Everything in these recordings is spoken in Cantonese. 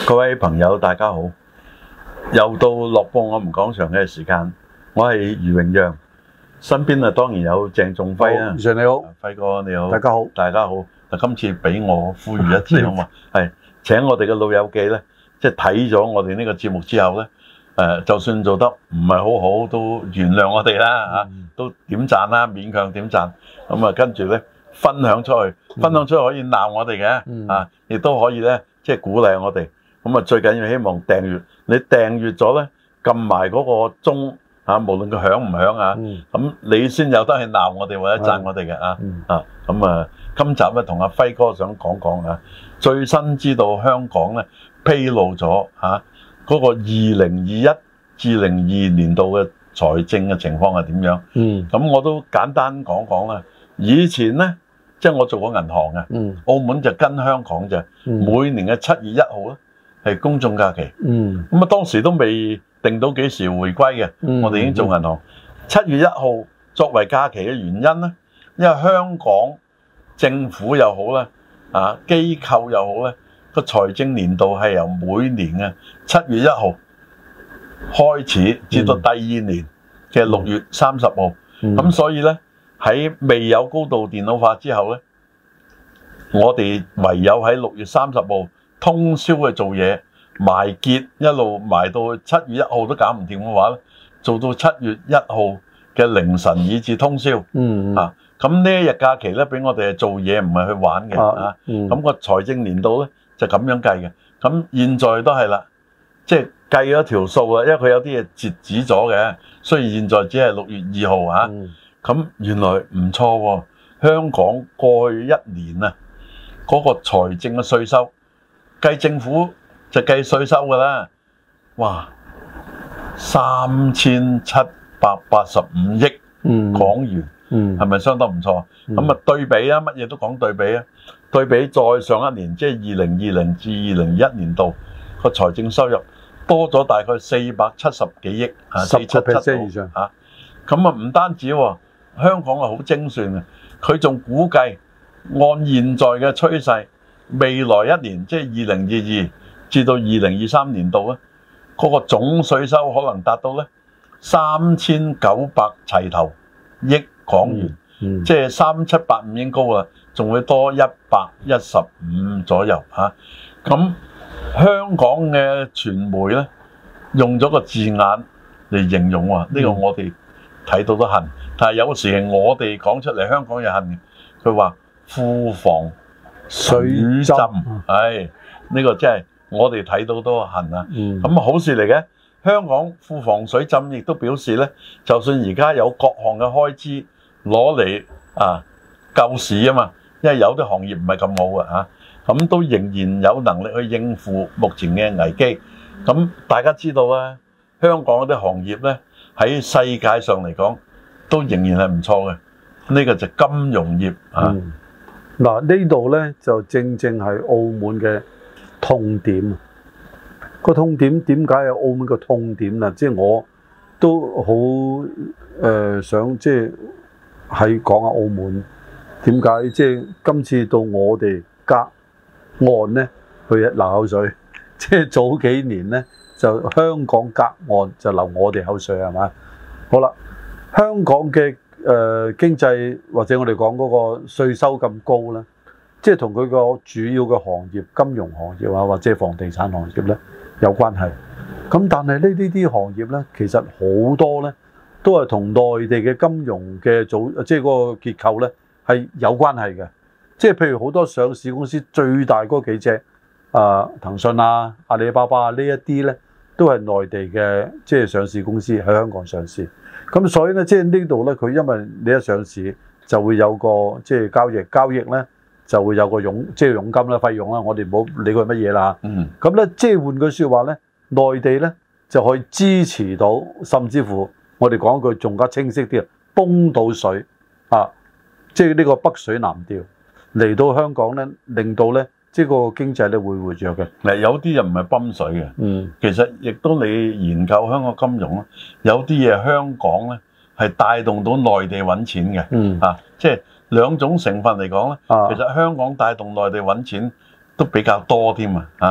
各位朋友，大家好！又到樂報我們講場嘅時間，我係余榮陽，身邊當然有鄭仲輝啦。 余 Sir 你好， 輝哥你好， 大家好， 大家好。今次俾我呼籲一次好嘛？係請我哋嘅老友記咧，即係睇咗我哋呢個節目之後咧，就算做得唔係好好，都原諒我哋啦嚇，都點讚啦，勉強點讚。咁啊，跟住咧分享出去，分享出去可以鬧我哋嘅，啊，亦都可以咧即係鼓勵我哋。咁啊，最緊要希望訂閱，你訂閱咗咧，撳埋嗰個鐘啊，無論佢響唔響啊，咁你先有得去鬧我哋或者讚我哋嘅啊。咁啊，今集咧同阿輝哥想講講啊，最新知道香港咧披露咗嗰個2021至02年度嘅財政嘅情況係點樣？咁我都簡單講講啦。以前咧，即係我做過銀行嘅，澳門就跟香港就每年嘅7月1號咧。係公眾假期，咁啊當時都未定到幾時回歸嘅，我哋已經做銀行。7月1號作為假期嘅原因咧，因為香港政府又好咧，機構又好咧，個財政年度係由每年嘅7月1號開始，至到第二年嘅6月30號。咁所以咧喺未有高度電腦化之後咧，我哋唯有喺6月30號。通宵去做嘢，埋結一路埋到7月1號都搞唔掂嘅話咧，做到7月1號嘅凌晨以至通宵。咁呢一日假期咧，俾我哋係做嘢，唔係去玩嘅。咁個財政年度咧就咁樣計嘅。咁現在都係啦，即係計咗條數啦，因為佢有啲嘢截止咗嘅。雖然現在只係6月2號咁原來唔錯喎。香港過去1年啊，嗰個財政嘅稅收。計政府就計稅收㗎啦，哇！3785億港元，係咪相當唔錯？咁啊對比啊，乜嘢都講對比啊，對比再上一年，即係2020至2021年度個財政收入多咗大概470幾億，477 以上咁啊唔單止喎，香港係好精算嘅，佢仲估計按現在嘅趨勢。未來一年即係2022至到2023年度咧，嗰個總稅收可能達到咧3900齊頭億港元，即係3785已經高啦，仲會多115左右嚇。咁香港嘅傳媒咧用咗個字眼嚟形容喎，呢個我哋睇到都恨，但係有時係我哋講出嚟，香港又恨嘅。佢話庫房水浸，呢個真係我哋睇到都恨啊！咁好事嚟嘅，香港庫房水浸亦都表示咧，就算而家有各項嘅開支攞嚟救市啊嘛，因為有啲行業唔係咁好嘅咁都仍然有能力去應付目前嘅危機。咁大家知道啦，香港嗰啲行業咧喺世界上嚟講都仍然係唔錯嘅，呢個就金融業嗱，呢度咧就正正係澳門嘅痛點。個痛點點解係澳門個痛點啊？即係我都好想即係講下澳門點解即係今次到我哋隔岸咧去流口水。即係早幾年咧就香港隔岸就流我哋口水係嘛？好啦，香港嘅經濟或者我哋講嗰個稅收咁高咧，即係同佢個主要嘅行業，金融行業或者房地產行業咧有關係。咁但係呢啲行業咧，其實好多咧都係同內地嘅金融嘅即係嗰個結構咧係有關係嘅。即係譬如好多上市公司最大嗰幾隻騰訊啊、阿里巴巴呢一啲咧，都係內地嘅即係上市公司喺香港上市。咁所以咧，即係呢度咧，佢因為你一上市就會有個即係交易咧，就會有個佣金啦、費用啦，我哋唔好理佢乜嘢啦。咁咧，即係換句説話咧，內地咧就可以支持到，甚至乎我哋講句仲加清晰啲啊，泵到水即係呢個北水南調嚟到香港咧，令到咧即係個經濟咧會活躍嘅。 嗱，有啲又唔係泵水嘅，其實亦都你研究香港金融咧，有啲嘢香港咧係帶動到內地揾錢嘅，即係兩種成分嚟講咧，其實香港帶動內地揾錢都比較多添啊！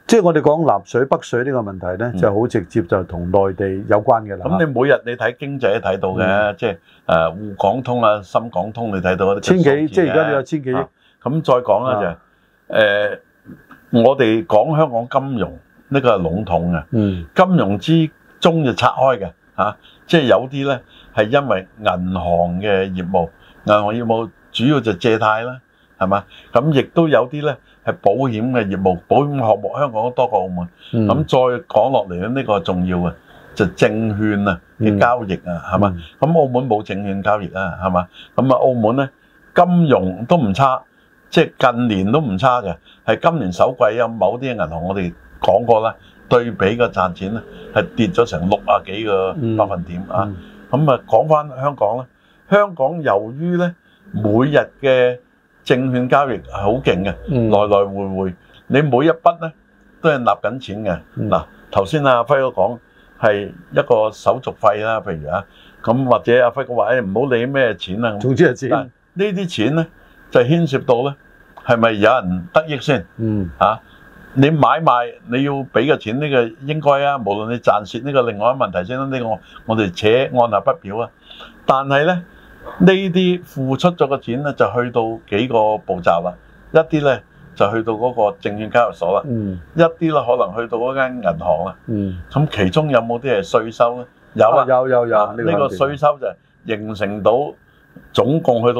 即係我哋講南水北水呢個問題咧，就好直接就同內地有關嘅啦。 咁你每日你睇經濟都睇到嘅，即係滬港通啊、深港通你睇到嗰啲千幾，即係而家你有千幾億。 咁再講咧就我哋講香港金融呢個係籠統嘅，金融之中就拆開嘅嚇，即係有啲咧係因為銀行嘅業務，銀行業務主要就借貸啦，係嘛？咁亦都有啲咧係保險嘅業務，保險項目香港都多過澳門。咁再講落嚟咧，呢個重要嘅就證券啊嘅交易啊，係嘛？咁澳門冇證券交易啊，係嘛？咁啊澳門咧金融都唔差。即係近年都唔差嘅，係今年首季有某啲銀行我哋講過啦，對比個賺錢咧係跌咗成60幾個百分點啊。咁啊講翻香港啦，香港由於咧每日嘅證券交易係好勁嘅，來來回回，你每一筆咧都係納緊錢嘅。嗱頭先阿輝哥講係一個手續費啦，譬如咁或者阿輝哥話唔好理咩錢啊， 總之係錢。 呢啲錢咧就牽涉到咧，係咪有人得益先？你買賣你要俾嘅錢呢個應該啊，無論你賺蝕呢個另外一個問題先啦。呢個我哋且按下不表啊。但係咧呢啲付出咗嘅錢咧就去到幾個步驟啦。一啲咧就去到嗰個證券交易所啦，一啲咧可能去到嗰間銀行啦。咁其中有冇啲係稅收咧？有啊，有。呢個稅收就形成到。總共去到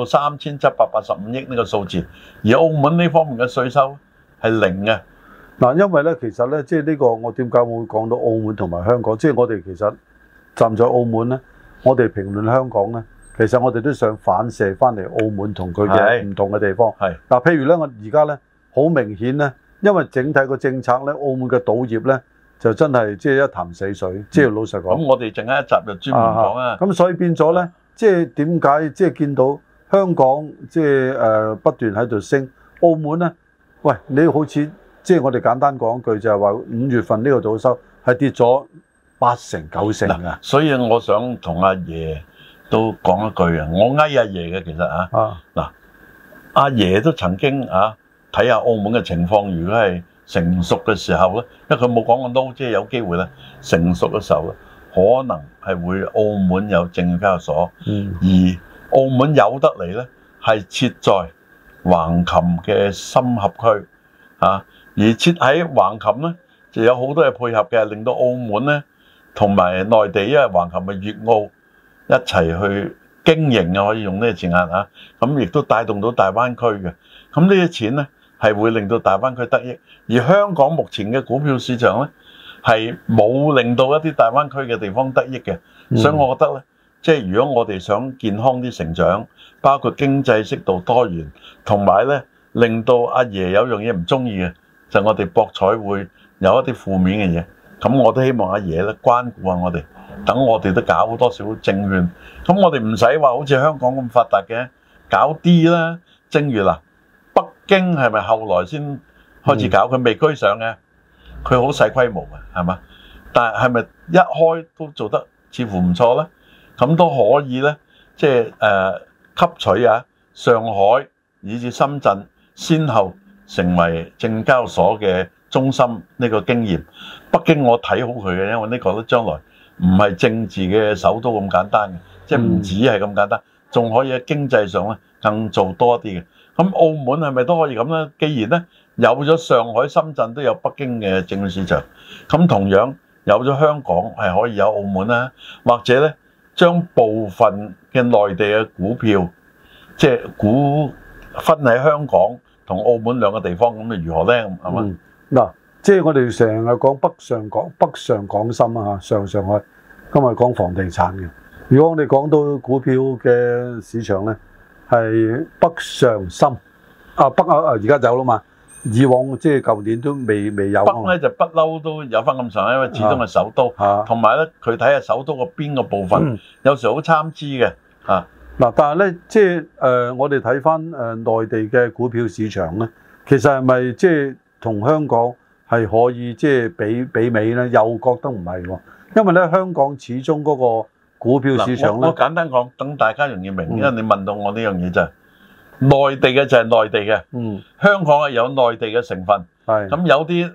3785億呢個數字，而澳門呢方面嘅稅收係零嘅。 嗱，因為咧其實咧，即係呢個我點解會講到澳門同埋香港？即係我哋其實站在澳門咧，我哋評論香港咧，其實我哋都想反射翻嚟澳門同佢嘅唔同嘅地方。係嗱，譬如咧，我而家咧好明顯咧，因為整體個政策咧，澳門嘅賭業咧就真係即係一潭死水。即係老實講。咁我哋陣間一集就專門講啊。 咁所以變咗咧。即係點解？即係見到香港即係不斷喺度升，澳門咧，喂，你好似即係我哋簡單講句就係話5月份呢個賭收係跌咗8成9成啊！ 所以我想同阿爺都講一句啊，我阿爺嘅其實嗱，阿爺都曾經睇下澳門嘅情況，如果係成熟嘅時候咧，因為佢冇講過都即係有機會咧，成熟嘅時候咧。可能係會澳門有證券交易所，而澳門有得嚟咧，係設在橫琴嘅深合區，而設喺橫琴咧就有好多嘢配合嘅，令到澳門咧同埋內地，因為橫琴係粵澳一齊去經營啊，可以用呢個字眼咁亦都帶動到大灣區嘅，咁呢啲錢咧係會令到大灣區得益，而香港目前嘅股票市場咧。係冇令到一啲大灣區嘅地方得益嘅，所以我覺得咧，即係如果我哋想健康啲成長，包括經濟適度多元，同埋咧令到阿爺有樣嘢唔中意嘅，就我哋博彩會有一啲負面嘅嘢，咁我都希望阿爺咧關顧下我哋，等我哋都搞多少證券，咁我哋唔使話好似香港咁發達嘅，搞啲啦。正如嗱，北京係咪後來先開始搞？佢未居上嘅。佢好細規模嘅，係嘛？但係咪一開都做得似乎唔錯咧？咁都可以咧，即係吸取上海以至深圳先後成為證交所嘅中心呢個經驗。北京我睇好佢嘅，因為呢個都將來唔係政治嘅首都咁簡單嘅，即係唔止係咁簡單，仲可以喺經濟上咧更做多啲嘅。咁澳門係咪都可以咁咧？既然咧有咗上海、深圳都有北京嘅證券市場，咁同樣有咗香港係可以有澳門啦，或者咧將部分嘅內地嘅股票，即係股分喺香港同澳門兩個地方，咁如何咧？係嘛？ 嗱，即係我哋成日講北上廣深上海，今日講房地產嘅。如果我哋講到股票嘅市場咧，係北上深而家走啦嘛。以往即係舊年都未有。 北咧就不嬲都有翻咁上下，因為始終係首都，同埋咧佢睇下首都個邊個部分，有時好參差嘅。 嗱，但係咧即係我哋睇翻內地嘅股票市場咧，其實係咪即係同香港係可以即係比美咧？又覺得唔係喎，因為咧香港始終嗰個股票市場咧， 我簡單講，等大家容易明，因為你問到我呢樣嘢就係內地嘅就係內地嘅，香港係有內地嘅成分，咁有啲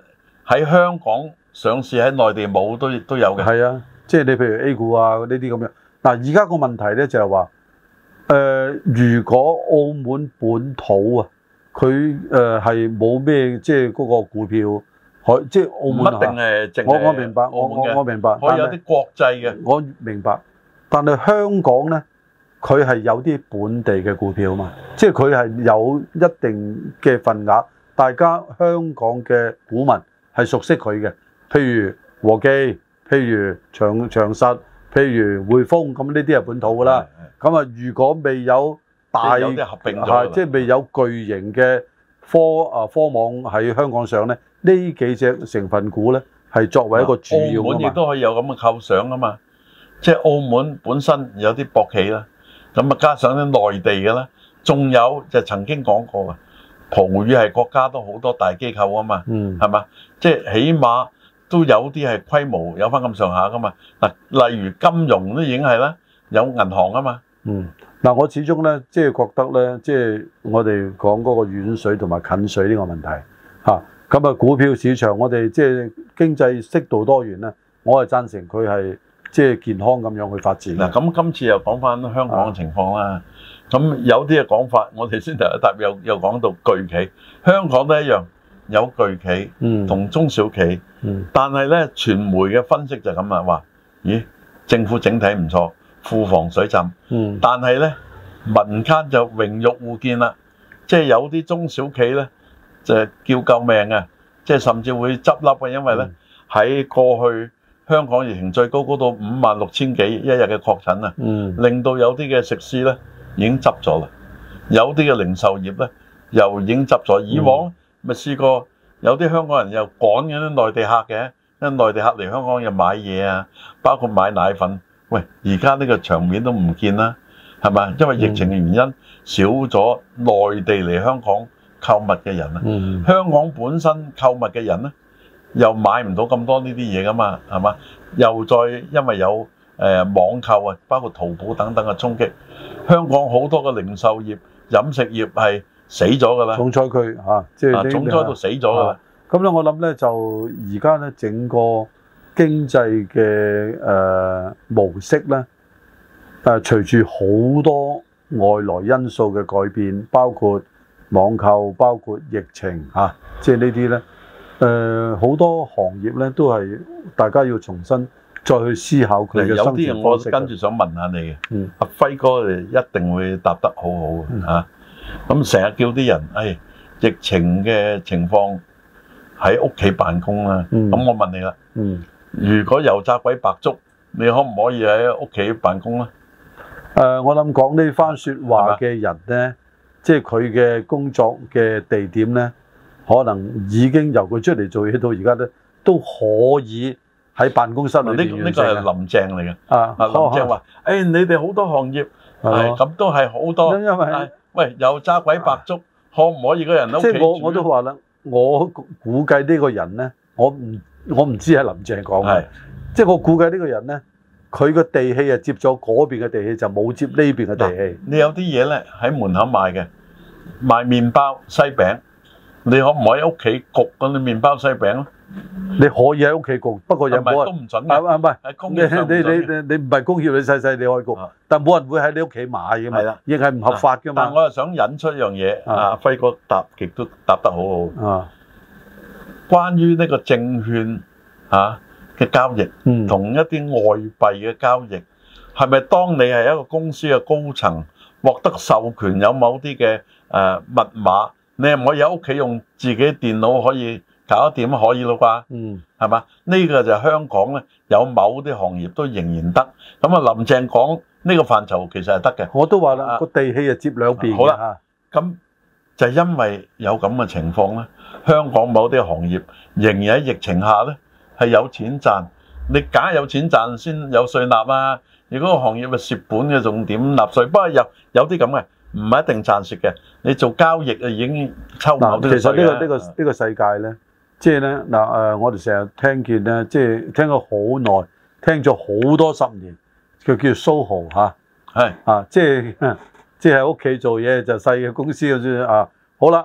喺香港上市喺內地冇都有嘅。 係啊，即係你譬如 A 股啊呢啲咁樣。嗱，而家個問題咧就係話，如果澳門本土啊，佢係冇咩即係嗰個股票，即係澳門唔一定係淨係我明白，我明白， 可以有啲國際嘅。 我明白，但係香港咧，佢係有啲本地嘅股票嘛，即係佢係有一定嘅份額，大家香港嘅股民係熟悉佢嘅，譬如和記，譬如長實，譬如匯豐，咁呢啲係本土㗎啦。咁啊，如果未有大有啲合併咗， 即係未有巨型嘅科網喺香港上咧，呢幾隻成分股咧係作為一個主要㗎嘛。 澳門亦都可以有咁嘅構想啊嘛，即係澳門本身有啲博企啦，咁啊加上啲內地嘅啦，仲有就曾經講過嘅，葡語系國家都好多大機構啊嘛，係嘛？即係起碼都有啲係規模有翻咁上下噶嘛。嗱，例如金融都已經係啦，有銀行啊嘛。 嗱，我始終咧即係覺得咧，即係我哋講嗰個遠水同埋近水呢個問題嚇。咁啊，股票市場我哋即係經濟適度多元咧，我係贊成佢係即係健康咁樣去發展。 嗱，咁今次又講翻香港嘅情況啦。咁有啲嘅講法，我哋先頭一答又講到巨企，香港都一樣有巨企同中小企，但係咧傳媒嘅分析就咁啦，話咦政府整體唔錯，庫房水浸，但係咧民間就榮辱互見啦，即係有啲中小企咧就叫救命啊，即係甚至會執笠嘅，因為咧喺過去香港疫情最高到56,000幾一日嘅確診啊，令到有啲嘅食肆咧已經執咗啦，有啲嘅零售業咧又已經執咗。以往咪試過有啲香港人又趕緊啲內地客嘅，因為內地客嚟香港又買嘢啊，包括買奶粉。喂，而家呢個場面都唔見啦，係咪？因為疫情嘅原因，少咗內地嚟香港購物嘅人啊。香港本身購物嘅人咧，又買唔到咁多呢啲嘢噶嘛，係嘛？又再因為有網購啊，包括淘寶等等嘅衝擊，香港好多嘅零售業、飲食業係死咗噶啦。重災區嚇，即係重災到死咗噶啦。咁咧，我諗咧就而家咧整個經濟嘅模式咧，隨住好多外來因素嘅改變，包括網購、包括疫情嚇，即係呢啲咧，好多行業咧都係大家要重新再去思考佢嘅生存方式。有啲我跟住想問下你嘅，阿輝哥一定會答得好好嚇。咁成日叫啲人，疫情嘅情況喺屋企辦公啦。咁我問你啦。如果油炸鬼白粥，你可唔可以喺屋企辦公咧？我諗講呢番説話嘅人咧，即係佢嘅工作嘅地點咧，可能已經由佢出嚟做嘢到而家咧，都可以喺辦公室裏邊完成。呢個係林鄭嚟嘅。林鄭話：你哋好多行業咁都係好多。因為喂，油炸鬼白粥，可唔可以個人喺屋企煮？即係我都話啦，我估計呢個人咧，我唔知係林鄭講嘅，即係我估計呢個人咧，佢個地氣接咗嗰邊嘅地氣，就冇接呢邊嘅地氣。你有啲嘢咧喺門口賣嘅，賣麵包、西餅，你可唔可以喺屋企焗嗰啲麵包、西餅咧？你可以喺屋企焗，不過有冇人都唔準嘅。唔係，係工業上唔準嘅。你唔係工業，你細細你可以焗，但係冇人會喺你屋企買嘅嘛。係啦，亦係唔合法嘅嘛。但係我又想引出一樣嘢，阿輝哥答極都答得好好。關於呢個證券嘅交易，同一啲外幣嘅交易，係咪當你係一個公司嘅高層，獲得授權有某啲嘅密碼，你係唔可以喺屋企用自己電腦可以搞得掂？可以咯啩？係嘛？呢個就香港咧，有某啲行業都仍然得。咁啊，林鄭講呢個範疇其實係得嘅。我都話啦，個地氣就接兩邊。好啦，咁就因為有咁嘅情況咧，香港某啲行業仍然喺疫情下咧係有錢賺。你梗係有錢賺先有稅納啊！如果個行業係蝕本嘅，仲點納稅？不過有啲咁嘅，唔係一定賺蝕嘅。你做交易啊，已經抽唔到啲稅。其實呢個世界咧，即係咧嗱我哋成日聽見咧，即係聽咗好耐，聽咗好多10年，佢叫 SOHO 嚇，係即係喺屋企做嘢就細嘅公司嗰啲啊。好啦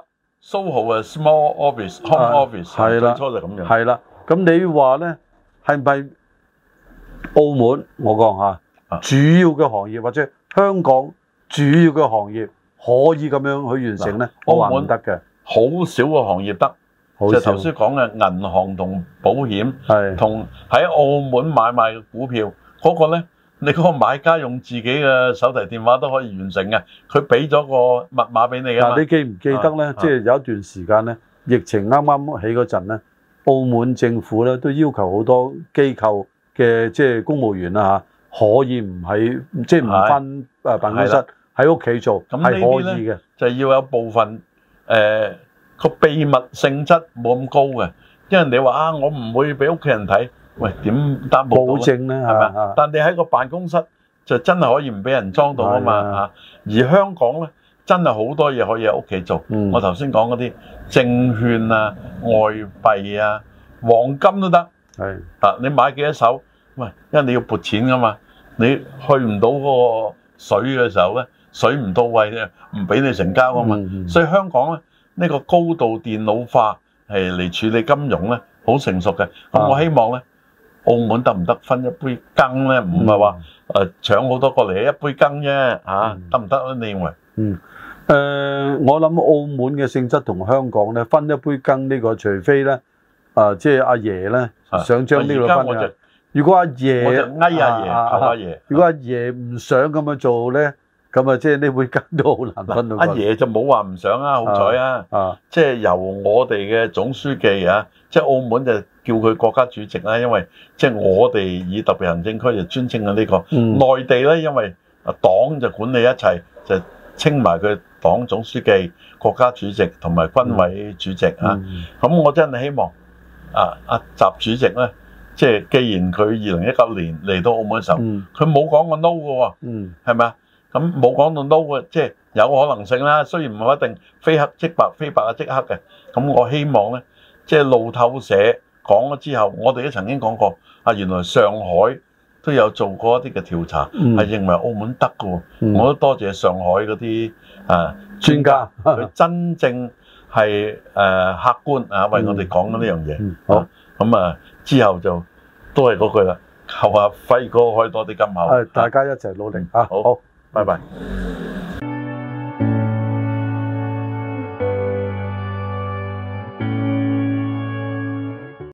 SOHO 係 small office、home office， 係啦， 最初就咁樣。 係啦，咁你話咧係咪澳門我講下主要嘅行業或者香港主要嘅行業可以咁樣去完成咧？我話唔得嘅， 好少個行業得。就頭先講嘅銀行同保險，同喺澳門買賣嘅股票嗰個咧，你嗰個買家用自己嘅手提電話都可以完成嘅，佢俾咗個密碼俾你㗎嘛。 嗱，你記唔記得咧？即係有一段時間咧，疫情啱啱起嗰陣咧，澳門政府咧都要求好多機構嘅即係公務員啦嚇，可以唔喺即係唔返辦公室喺屋企做，係可以嘅。 就要有部分個秘密性質冇咁高嘅，因為你話啊，我唔會俾屋企人睇，喂點擔保到？保證咧， 係咪？但你喺個辦公室就真係可以唔俾人裝到啊嘛嚇。而香港咧，真係好多嘢可以喺屋企做。我頭先講嗰啲證券啊、外幣啊、黃金都得。係啊，你買幾多手？喂，因為你要撥錢噶嘛，你去唔到嗰個水嘅時候咧，水唔到位咧，唔俾你成交啊嘛。所以香港咧。呢個高度電腦化係嚟處理金融咧，好成熟嘅。咁我希望咧，澳門得唔得分一杯羹咧？唔係話搶好多過嚟一杯羹啫嚇，得唔得咧？你認為？ 我諗澳門嘅性質同香港咧分一杯羹呢個，除非咧即係阿爺咧想將呢個分嘅。如果阿爺， 我就嗌阿爺，求阿爺。 如果阿爺唔想咁樣做咧？咁啊，即係呢杯羹都好難分到。 阿爺就冇話唔想啊，好彩啊！即係由我哋嘅總書記啊，即係澳門就叫佢國家主席啦，因為即係我哋以特別行政區就尊稱嘅呢個。內地咧，因為黨就管理一切，就稱埋佢黨總書記、國家主席同埋軍委主席啊。咁我真係希望阿習主席咧，即係既然佢2019年嚟到澳門嘅時候，佢冇講過 no 嘅喎，係咪啊？咁冇講到 no 嘅，即係有可能性啦。雖然唔係一定非黑即白，非白啊即黑嘅。咁我希望咧，即係路透社講咗之後，我哋都曾經講過原來上海都有做過一啲嘅調查，係認為澳門得嘅喎。我都多謝上海嗰啲專家，佢真正係客觀為我哋講緊呢樣嘢。好，咁之後就都係嗰句啦，求阿輝哥開多啲金口。 大家一齊努力啊！好。 拜拜。